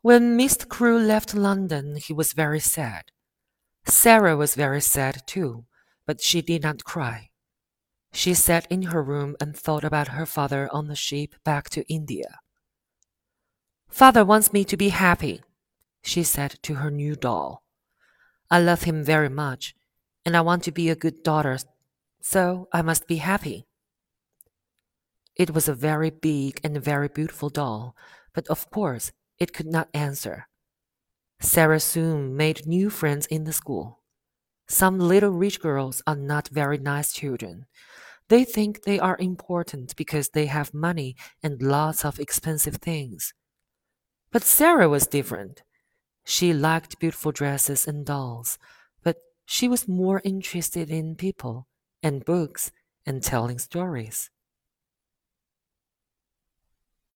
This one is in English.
When Mr. Crewe left London, he was very sad. Sarah was very sad too, but she did not cry. She sat in her room and thought about her father on the ship back to India. Father wants me to be happy, she said to her new doll. I love him very much, and I want to be a good daughter, so I must be happy. It was a very big and very beautiful doll, but of course it could not answer. Sarah soon made new friends in the school. Some little rich girls are not very nice children. They think they are important because they have money and lots of expensive things. But Sarah was different. She liked beautiful dresses and dolls, but she was more interested in people and books and telling stories.